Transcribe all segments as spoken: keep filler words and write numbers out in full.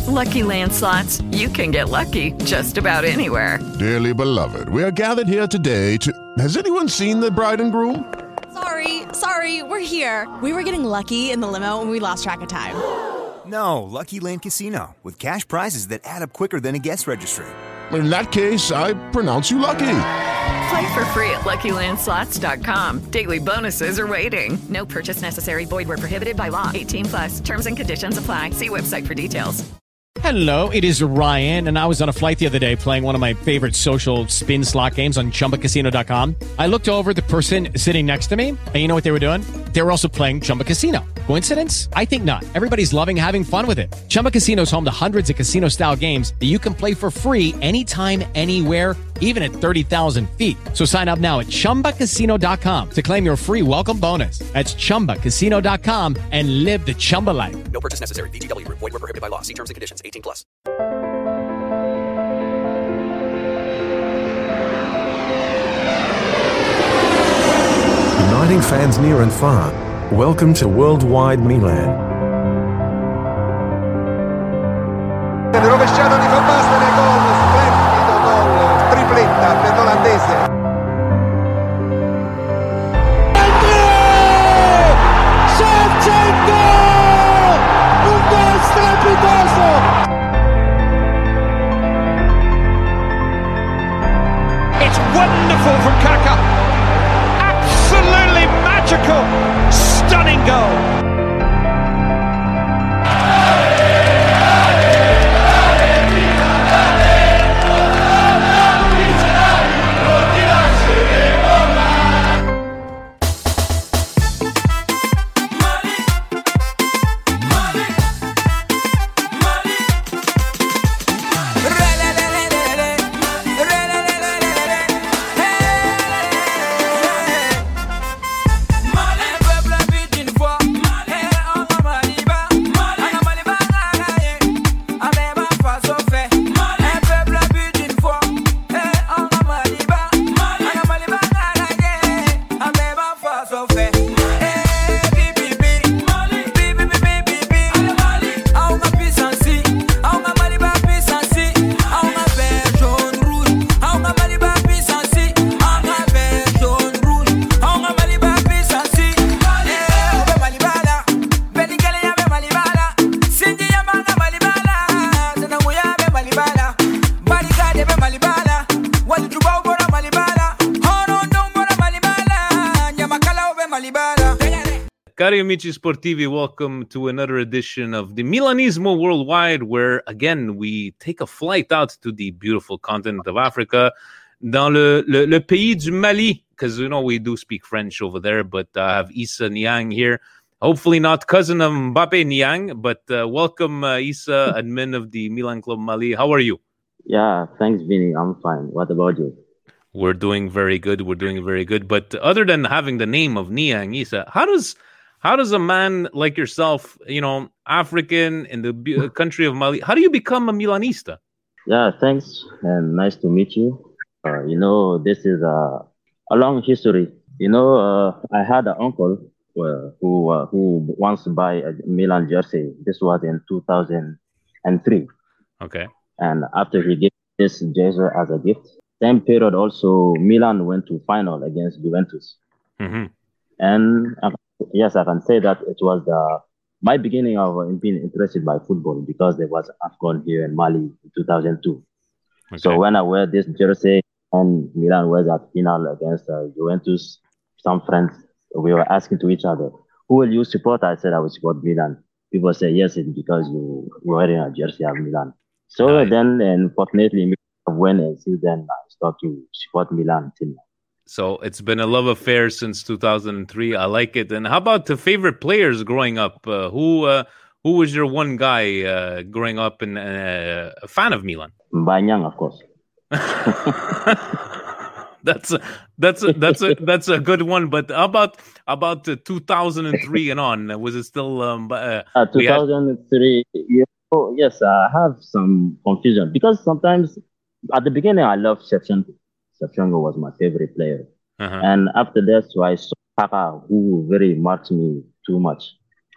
Lucky Land Slots, you can get lucky just about anywhere. Dearly beloved, we are gathered here today to... Has anyone seen the bride and groom? Sorry, sorry, we're here. We were getting lucky in the limo and we lost track of time. No, Lucky Land Casino, with cash prizes that add up quicker than a guest registry. In that case, I pronounce you lucky. Play for free at Lucky Land Slots dot com. Daily bonuses are waiting. No purchase necessary. Void where prohibited by law. eighteen plus. Terms and conditions apply. See website for details. Hello, it is Ryan, and I was on a flight the other day playing one of my favorite social spin slot games on Chumba Casino dot com. I looked over at the person sitting next to me, and you know what they were doing? They were also playing Chumba Casino. Coincidence? I think not. Everybody's loving having fun with it. Chumba Casino is home to hundreds of casino-style games that you can play for free anytime, anywhere, even at thirty thousand feet. So sign up now at Chumba Casino dot com to claim your free welcome bonus. That's Chumba Casino dot com and live the Chumba life. No purchase necessary. V G W. Void where prohibited by law. See terms and conditions. eighteen plus. Uniting fans near and far, welcome to Worldwide Milan. Rovesciato di Van Basten e gol, splendido gol, tripletta per l'olandese. Shevchenko! Un gol strepitoso! It's wonderful from Kaka. Absolutely magical, stunning goal. Cari amici sportivi, welcome to another edition of the Milanismo Worldwide, where again we take a flight out to the beautiful continent of Africa, dans le, le, le pays du Mali, because you know we do speak French over there, but I have Issa Niang here. Hopefully not cousin of Mbappe Niang, but uh, welcome uh, Issa, admin of the Milan Club Mali. How are you? Yeah, thanks, Vinny. I'm fine. What about you? We're doing very good. We're doing very good. But other than having the name of Niang, Issa, how does how does a man like yourself, you know, African in the b- country of Mali, how do you become a Milanista? Yeah, thanks, and nice to meet you. Uh, you know, this is a a long history. You know, uh, I had an uncle uh, who uh, who wants to buy a Milan jersey. This was in two thousand three. Okay. And after he gave this jersey as a gift, same period also Milan went to final against Juventus. Mm-hmm. And uh, yes, I can say that it was the my beginning of uh, being interested by football because there was AFCON here in Mali in two thousand two. Okay. So when I wear this jersey and Milan was at final against uh, Juventus, some friends, we were asking to each other, who will you support? I said I would support Milan. People say, yes, it's because you were wearing a jersey of Milan. So nice. Then, unfortunately, Milan won, and since then I started to support Milan till now. So it's been a love affair since two thousand three. I like it. And how about the favorite players growing up? Uh, who uh, who was your one guy uh, growing up and uh, a fan of Milan? Banyang, of course. that's a, that's a, that's a that's a good one. But how about about uh, two thousand three and on? Was it still um, uh, uh, two thousand three? Had... Yeah. Oh, yes, I have some confusion because sometimes at the beginning I loved Shevchenko. Shevchenko was my favorite player. Uh-huh. And after that, so I saw Kaka, who very marked me too much.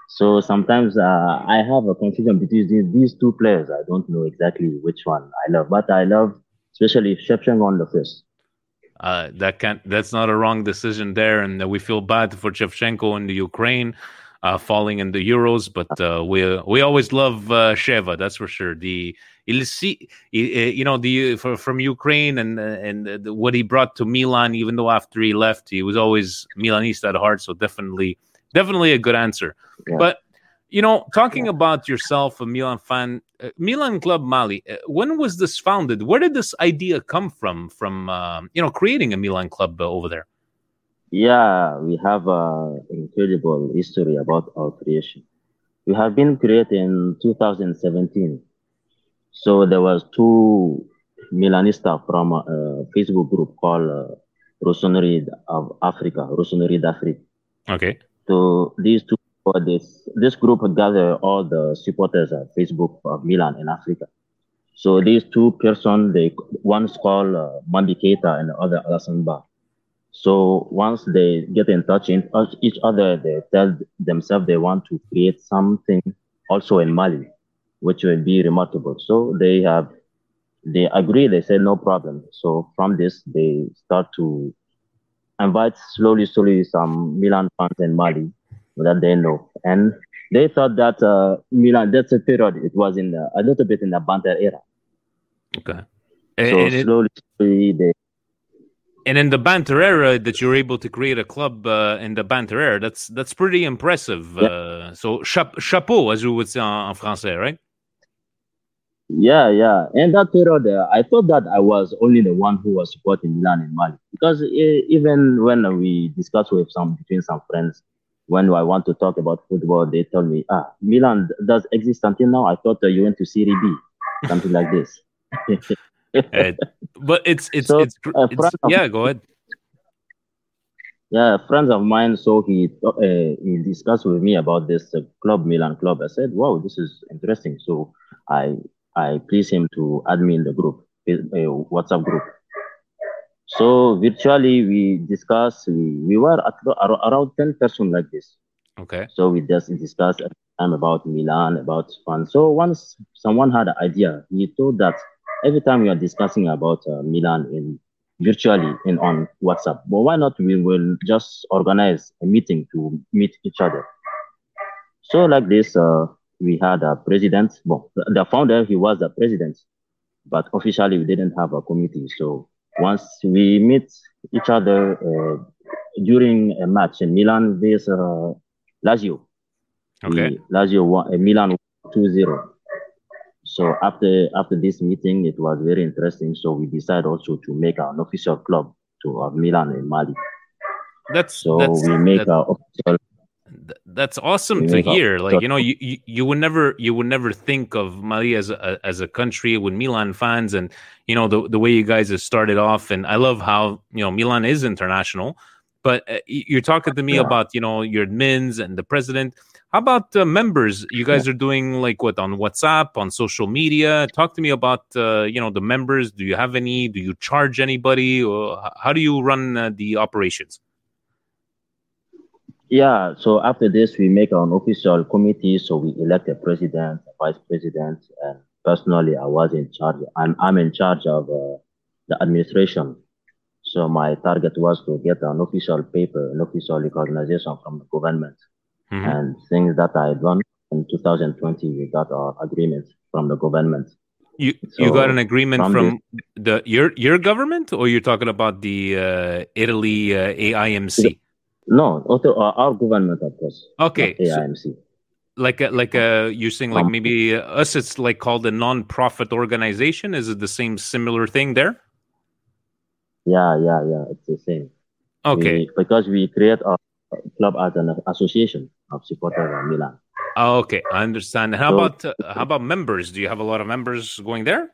So sometimes uh, I have a confusion between these, these two players. I don't know exactly which one I love, but I love especially Shevchenko on the first. Uh, that can't. That's not a wrong decision there, and uh, we feel bad for Shevchenko in the Ukraine uh, falling in the Euros. But uh, we we always love uh, Sheva. That's for sure. The il si, you know, the for, from Ukraine and and the, what he brought to Milan. Even though after he left, he was always Milanista at heart. So definitely, definitely a good answer. Yeah. But you know, talking about yourself, a Milan fan, uh, Milan Club Mali, uh, when was this founded? Where did this idea come from, from, uh, you know, creating a Milan Club uh, over there? Yeah, we have an incredible history about our creation. We have been created in two thousand seventeen. So there was two Milanista from a, a Facebook group called uh, Rossoneri of Africa, Rossoneri d'Afrique. Okay. So these two For this, this group would gather all the supporters at Facebook of Milan in Africa. So these two persons, they one's called uh, Mandi Keita and the other Alassane Ba. So once they get in touch in each other, they tell themselves they want to create something also in Mali, which will be remarkable. So they have, they agree. They say no problem. So from this, they start to invite slowly, slowly some Milan fans in Mali that they know, and they thought that uh, Milan. That's a period. It was in the, a little bit in the Banter era. Okay. So and slowly, it, slowly they. And in the Banter era, that you're able to create a club uh, in the Banter era, that's that's pretty impressive. Yeah. Uh, so cha- chapeau, as we would say en, en français, right? Yeah, yeah. And that period, uh, I thought that I was only the one who was supporting Milan in Mali, because uh, even when we discuss with some between some friends. When I want to talk about football, they tell me, ah, Milan does exist until now. I thought uh, you went to Serie B, something like this. uh, but it's, it's, so, it's, uh, it's yeah, go ahead. Yeah, friends of mine, so he uh, he discussed with me about this uh, club, Milan Club. I said, wow, this is interesting. So I I pleased him to add me in the group, uh, WhatsApp group. So virtually we discussed, we, we were at around ten persons like this. Okay. So we just discussed at the time about Milan, about fun. So once someone had an idea, he told that every time we are discussing about uh, Milan in virtually in on WhatsApp, but why not we will just organize a meeting to meet each other. So like this, uh, we had a president, well, the founder, he was the president, but officially we didn't have a committee. So once we meet each other uh, during a match in Milan versus uh, Lazio. Okay. We, Lazio won, uh, Milan two zero. So after after this meeting, it was very interesting. So we decided also to make an official club to uh, Milan in Mali. That's so that's, we make that's, our official. That's awesome to hear. Like, you know, you, you, you would never you would never think of Mali as a, as a country with Milan fans, and you know the the way you guys have started off. And I love how you know Milan is international. But uh, you're talking to me yeah. about you know your admins and the president. How about uh, members? You guys yeah. are doing like what on WhatsApp, on social media? Talk to me about uh, you know the members. Do you have any? Do you charge anybody? Or how do you run uh, the operations? Yeah, so after this, we make an official committee. So we elect a president, a vice president, and personally, I was in charge. I'm I'm in charge of uh, the administration. So my target was to get an official paper, an official recognition from the government, mm-hmm. and things that I done in two thousand twenty. We got our agreement from the government. You so you got an agreement from, from the, the your your government, or you're talking about the uh, Italy uh, A I M C? No, our government, of course. Okay, A I M C. So like a, like a, you're saying like um, maybe us, it's like called a non-profit organization. Is it the same similar thing there? Yeah, yeah, yeah. It's the same. Okay, we, because we create our club as an association of supporters of Milan. Oh, okay, I understand. How so, about uh, how about members? Do you have a lot of members going there?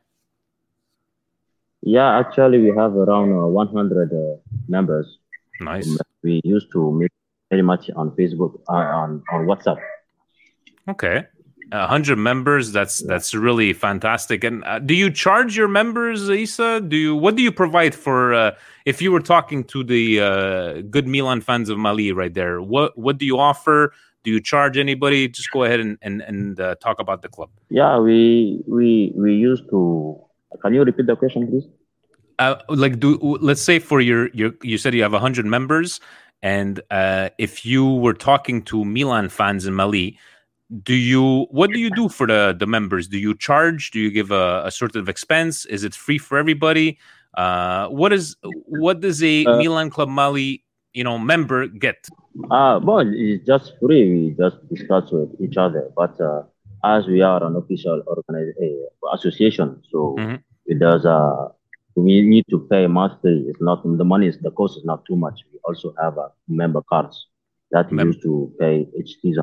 Yeah, actually, we have around uh, one hundred uh, members. Nice. We used to meet very much on Facebook, uh, on on WhatsApp. Okay, a hundred members. That's yeah. that's really fantastic. And uh, do you charge your members, Issa? Do you what do you provide for? Uh, if you were talking to the uh, good Milan fans of Mali right there, what what do you offer? Do Do you charge anybody? Just go ahead and and, and uh, talk about the club. Yeah, we we we used to. Can you repeat the question, please? Uh, like, do let's say for your your you said you have a hundred members, and uh, if you were talking to Milan fans in Mali, do you what do you do for the the members? Do you charge? Do you give a, a sort of expense? Is it free for everybody? Uh, what is what does a uh, Milan Club Mali you know member get? Uh, well, it's just free. We just discuss with each other, but uh, as we are an official organization uh, association, so mm-hmm. it does. Uh, we need to pay monthly. It's not the money. Is the cost is not too much. We also have uh, member cards that we Mem- use to pay each season.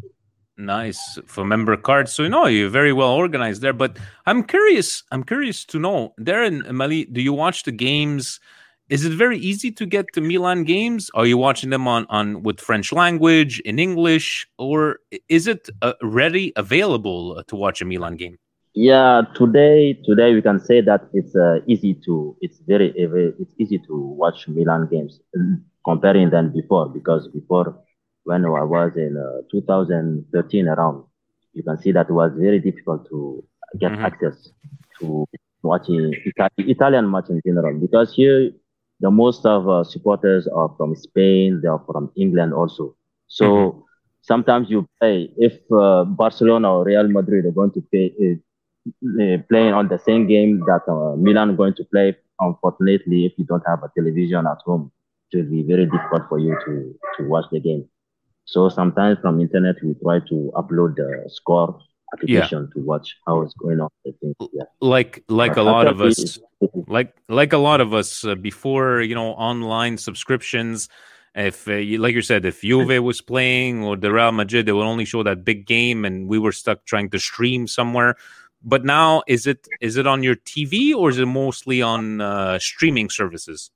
Nice for member cards. So you know you're very well organized there. But I'm curious. I'm curious to know there in Mali. Do you watch the games? Is it very easy to get to Milan games? Are you watching them on, on with French language, in English, or is it uh, ready, available to watch a Milan game? Yeah, today today we can say that it's uh, easy to it's very it's easy to watch Milan games comparing than before, because before when I was in uh, two thousand thirteen around, you can see that it was very difficult to get mm-hmm. access to watching Ita- Italian match in general, because here. The most of uh, supporters are from Spain, they are from England also. So mm-hmm. sometimes you play, if uh, Barcelona or Real Madrid are going to play, uh, uh, playing on the same game that uh, Milan are going to play, unfortunately, if you don't have a television at home, it will be very difficult for you to, to watch the game. So sometimes from internet, we try to upload the score application yeah. to watch how it's going on. I think, yeah. Like like but a lot of us, like like a lot of us uh, before, you know, online subscriptions. If uh, you, like you said, if Juve was playing or the Real Madrid, they would only show that big game, and we were stuck trying to stream somewhere. But now, is it is it on your T V or is it mostly on uh, streaming services?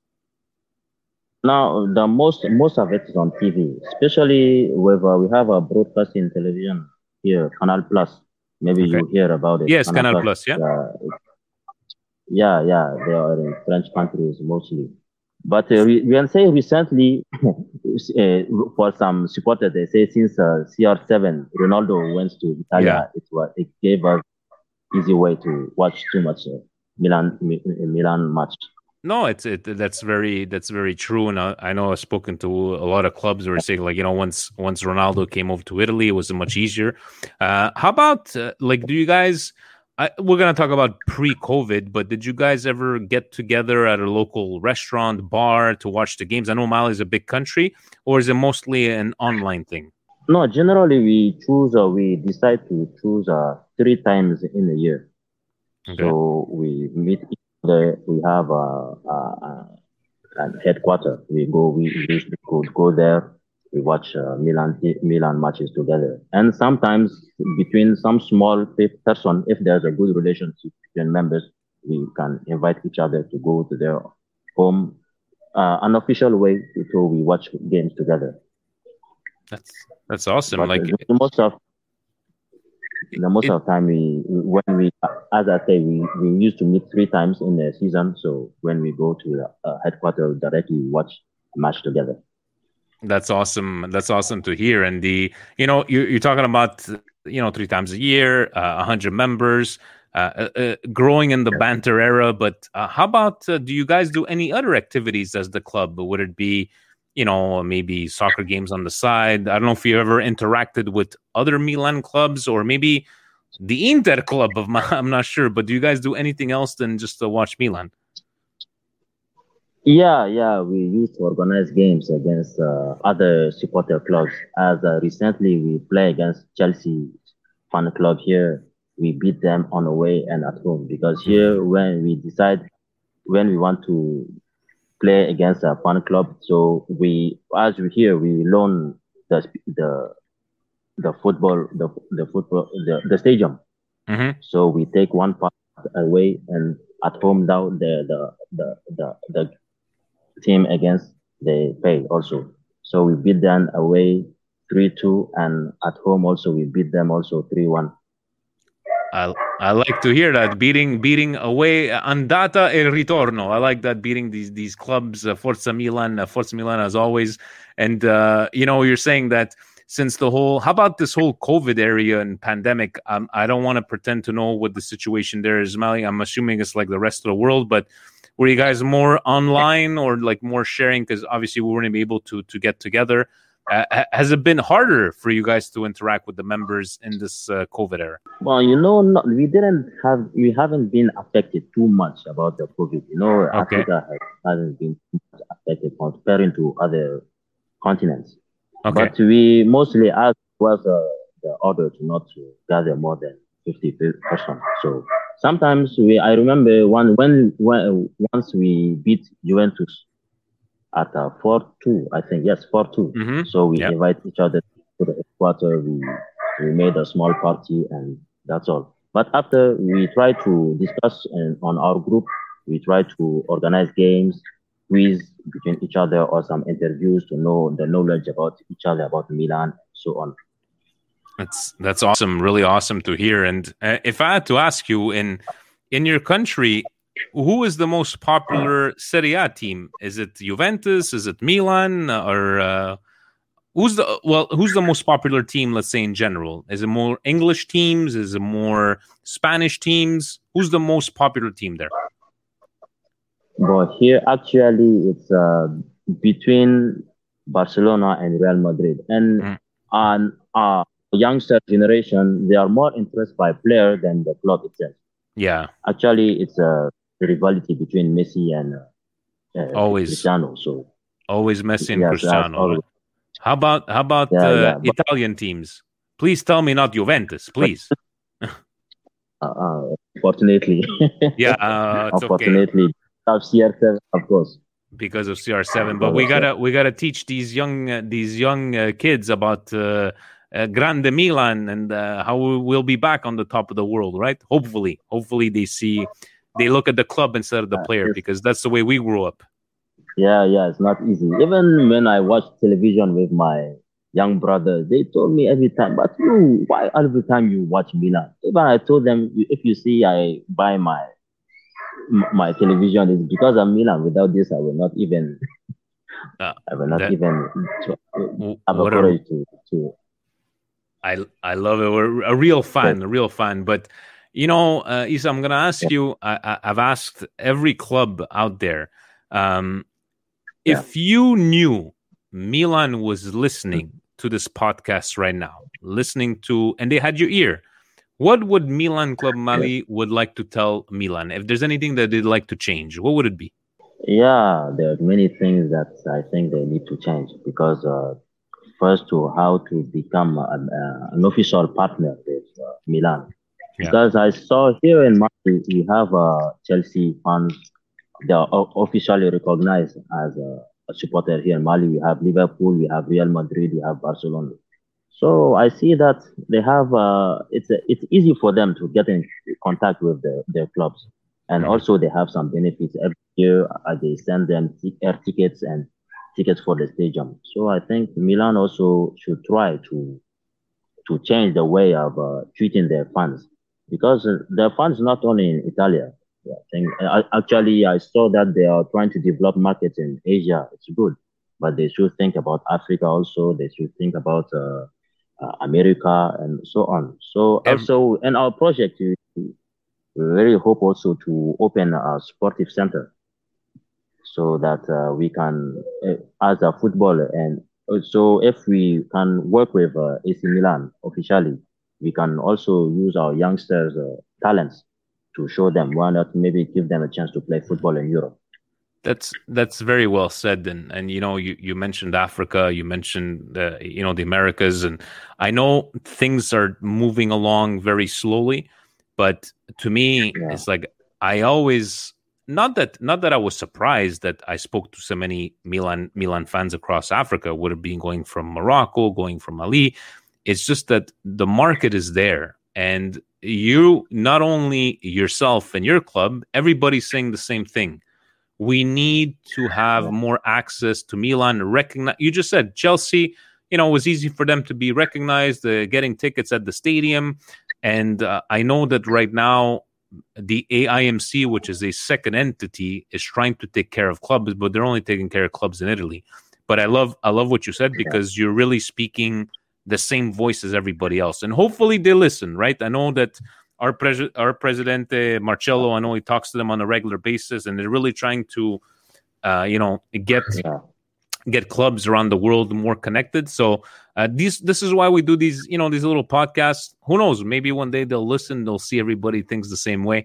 Now, the most most of it is on T V, especially with uh, we have a broadcasting television. Here, Canal Plus. Maybe okay. you hear about it. Yes, Canal, Canal Plus, Plus, yeah. Uh, yeah, yeah, they are in French countries mostly. But uh, we, we can say recently, uh, for some supporters, they say since uh, C R seven, Ronaldo went to Italy, yeah. it, was, it gave us easy way to watch too much uh, Milan Milan match. No, it's it. That's very that's very true, and I, I know I've spoken to a lot of clubs who are saying, like, you know, once once Ronaldo came over to Italy, it was much easier. Uh, how about uh, like, do you guys? I, we're gonna talk about pre-COVID, but did you guys ever get together at a local restaurant, bar to watch the games? I know Mali is a big country, or is it mostly an online thing? No, generally we choose. Uh, we decide to choose uh, three times in a year. Okay. So we meet. The, we have a, a, a headquarters. We go, we usually go, go there. We watch uh, Milan Milan matches together, and sometimes between some small person, if there's a good relationship between members, we can invite each other to go to their home, uh, an official way so we watch games together. That's that's awesome. But like the most of the most it, of the time, we when we, as I say, we, we used to meet three times in the season. So when we go to the uh, headquarters directly, we watch a match together. That's awesome. That's awesome to hear. And the, you know, you're, you're talking about, you know, three times a year, uh, a hundred members, uh, uh, growing in the banter era. But uh, how about, uh, do you guys do any other activities as the club? Would it be, you know, maybe soccer games on the side? I don't know if you ever interacted with other Milan clubs or maybe the Inter club of my, I'm not sure, but do you guys do anything else than just to watch Milan? Yeah, yeah, we used to organize games against uh, other supporter clubs. As uh, recently we play against Chelsea fan club here. We beat them on the way and at home, because here when we decide when we want to play against a fan club, so we as we here we loan the the the football the the football the, the stadium. Mm-hmm. So we take one part away, and at home down the the the the, the team against they pay also. So we beat them away three two, and at home also we beat them also three one. I I like to hear that, beating beating away, andata e ritorno. I like that, beating these these clubs, uh, Forza Milan, uh, Forza Milan as always. And uh, you know, you're saying that since the whole, how about this whole COVID area and pandemic? Um, I don't want to pretend to know what the situation there is, Mali. I'm assuming it's like the rest of the world, but were you guys more online or like more sharing? Because obviously we weren't able to to get together. Uh, has it been harder for you guys to interact with the members in this uh, COVID era? Well, you know, not, we didn't have, we haven't been affected too much about the COVID. You know, okay. Africa has, hasn't been too much affected comparing to other continents. Okay. But we mostly asked was uh, the order to not to gather more than fifty persons. So sometimes we, I remember one when, when once we beat Juventus at uh, four two, I think, yes, four two. Mm-hmm. So we yep. invite each other to the headquarters. We, we made a small party and that's all. But after we try to discuss in, on our group, we try to organize games, quiz between each other or some interviews to know the knowledge about each other, about Milan, and so on. That's that's awesome, really awesome to hear. And uh, if I had to ask you, in in your country, who is the most popular Serie A team? Is it Juventus? Is it Milan? Or uh, who's the well? Who's the most popular team? Let's say in general, is it more English teams? Is it more Spanish teams? Who's the most popular team there? But here, actually, it's uh, between Barcelona and Real Madrid, and mm. on our youngster generation, they are more interested by player than the club itself. Yeah, actually, it's a rivalry between Messi and uh, always Cristiano. So always Messi and yes, Cristiano. Always. How about how about yeah, uh, yeah, but, Italian teams? Please tell me not Juventus, please. uh, uh, unfortunately, yeah, uh, it's unfortunately, okay. Of C R seven, of course, because of C R seven. But we gotta we gotta teach these young uh, these young uh, kids about uh, uh, Grande Milan and uh, how we'll be back on the top of the world, right? Hopefully, hopefully they see. They look at the club instead of the player, because that's the way we grew up. Yeah, yeah, it's not easy. Even when I watch television with my young brother, they told me every time, but you, why every time you watch Milan? Even I told them, if you see I buy my my television, it's because of Milan. Without this, I will not even, uh, I will not that, even have a courage to, to. I, I love it. We're a real fan, a real fan, but you know, uh, Isa, I'm going to ask you, I, I've asked every club out there, um, yeah. if you knew Milan was listening to this podcast right now, listening to, and they had your ear, what would Milan Club Mali would like to tell Milan? If there's anything that they'd like to change, what would it be? Yeah, there are many things that I think they need to change, because uh, first to how to become a, a, an official partner with uh, Milan. Yeah. Because I saw here in Mali, we have uh, Chelsea fans. They are officially recognized as a, a supporter here in Mali. We have Liverpool, we have Real Madrid, we have Barcelona. So I see that they have. Uh, it's a, it's easy for them to get in contact with the, their clubs, and mm-hmm. also they have some benefits every year. Uh, they send them t- air tickets and tickets for the stadium. So I think Milan also should try to to change the way of uh, treating their fans. Because uh, their fans not only in Italy. Yeah, I think, uh, actually, I saw that they are trying to develop markets in Asia. It's good, but they should think about Africa also. They should think about uh, uh, America and so on. So um, also in our project, we, we really hope also to open a sportive center, so that uh, we can, uh, as a footballer, and so if we can work with uh, A C Milan officially, we can also use our youngsters' uh, talents to show them. Why not maybe give them a chance to play football in Europe? That's that's very well said. And and you know, you, you mentioned Africa, you mentioned uh, you know the Americas, and I know things are moving along very slowly, but to me, yeah. it's like I always not that not that I was surprised that I spoke to so many Milan Milan fans across Africa. Would have been going from Morocco, going from Mali. It's just that the market is there, and you, not only yourself and your club, everybody's saying the same thing. We need to have more access to Milan. Recognize. You just said Chelsea, you know, it was easy for them to be recognized, uh, getting tickets at the stadium. And uh, I know that right now, the A I M C, which is a second entity, is trying to take care of clubs, but they're only taking care of clubs in Italy. But I love, I love what you said, because you're really speaking the same voice as everybody else. And hopefully they listen, right? I know that our, pres- our Presidente Marcello, I know he talks to them on a regular basis, and they're really trying to, uh, you know, get... Yeah. get clubs around the world more connected. So uh, these, this is why we do these, you know, these little podcasts. Who knows? Maybe one day they'll listen. They'll see everybody thinks the same way.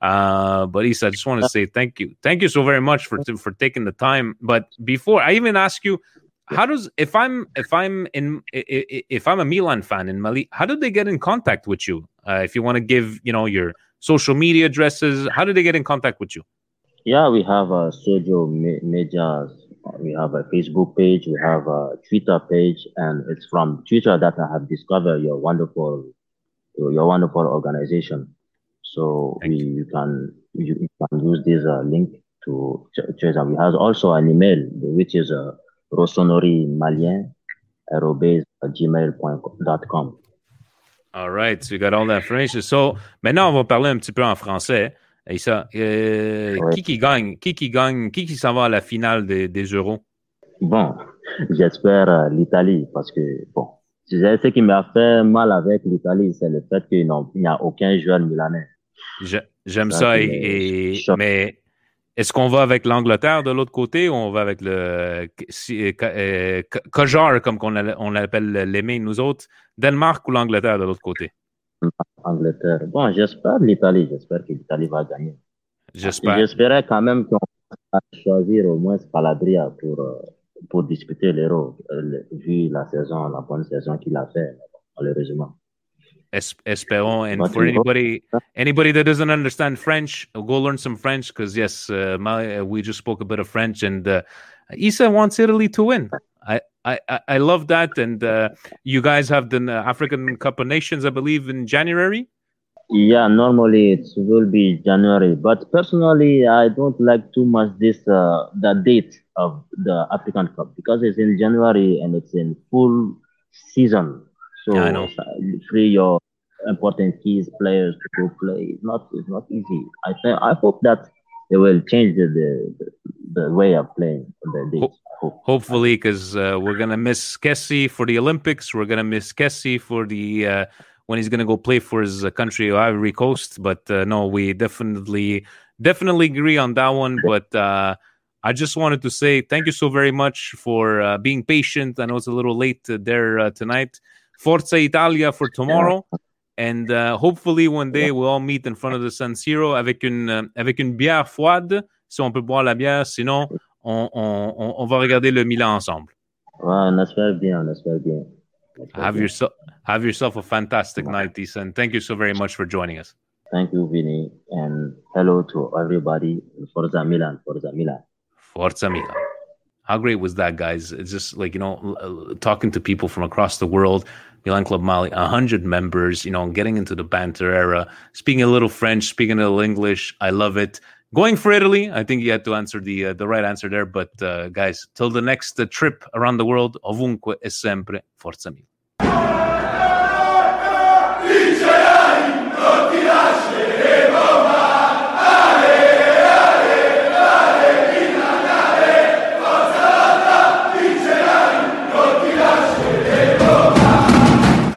Uh, but Issa, I just want to say thank you. Thank you so very much for for taking the time. But before I even ask you, how does if I'm if I'm in if I'm a Milan fan in Mali, how do they get in contact with you? Uh, if you want to give, you know, your social media addresses, how do they get in contact with you? Yeah, we have a social media. We have a Facebook page, we have a Twitter page, and it's from Twitter that I have discovered your wonderful, your wonderful organization. So we you can you, you can use this uh, link to choose. And we have also an email which is uh, rossonerimalien arobase gmail dot com. All right, so you got all that information. So maintenant on va parler un petit peu en français. Et ça, euh, ouais. qui qui gagne, qui qui gagne, qui qui s'en va à la finale des, des Euros? Bon, j'espère euh, l'Italie parce que bon, ce qui m'a fait mal avec l'Italie, c'est le fait qu'il n'y a aucun joueur milanais. Je, j'aime ça, ça et, et mais est-ce qu'on va avec l'Angleterre de l'autre côté ou on va avec le euh, Kojar comme on, on l'appelle l'aimer nous autres, Danemark ou l'Angleterre de l'autre côté? Angleterre. Bon, j'espère l'Italie. J'espère que l'Italie va gagner. J'espère. J'espérais quand même qu'on va choisir au moins Calabria pour, pour disputer l'Euro, vu la saison, la bonne saison qu'il a fait, malheureusement. Es- espérons. And for anybody, anybody that doesn't understand French, go learn some French because, yes, uh, my, we just spoke a bit of French, and uh, Issa wants Italy to win. I, I, I love that. And uh, you guys have the African Cup of Nations, I believe, in January? Yeah, normally it will be January. But personally, I don't like too much this uh, the date of the African Cup because it's in January and it's in full season. So yeah, I know. Free your important keys players to go play. It's not, it's not easy. I th- I hope that they will change the the, the way of playing the dates. Ho- hopefully, because uh, we're gonna miss Kessie for the Olympics. We're gonna miss Kessie for the uh, when he's gonna go play for his uh, country, Ivory Coast. But uh, no, we definitely definitely agree on that one. But uh, I just wanted to say thank you so very much for uh, being patient. I know it's a little late uh, there uh, tonight. Forza Italia for tomorrow. And uh, hopefully one day we'll all meet in front of the San Siro avec une, euh, avec une bière froide, si on peut boire la bière. Sinon, on, on, on va regarder le Milan ensemble. Ouais, on espère bien, on espère bien. On espère have, bien. Yourself, have yourself a fantastic night, Issa, and thank you so very much for joining us. Thank you, Vinny, and hello to everybody. Forza Milan, Forza Milan. Forza Milan. How great was that, guys? It's just like, you know, talking to people from across the world. Milan Club Mali, one hundred members, you know, getting into the banter era, speaking a little French, speaking a little English. I love it. Going for Italy, I think you had to answer the uh, the right answer there. But, uh, guys, till the next uh, trip around the world, ovunque e sempre, Forza Milan.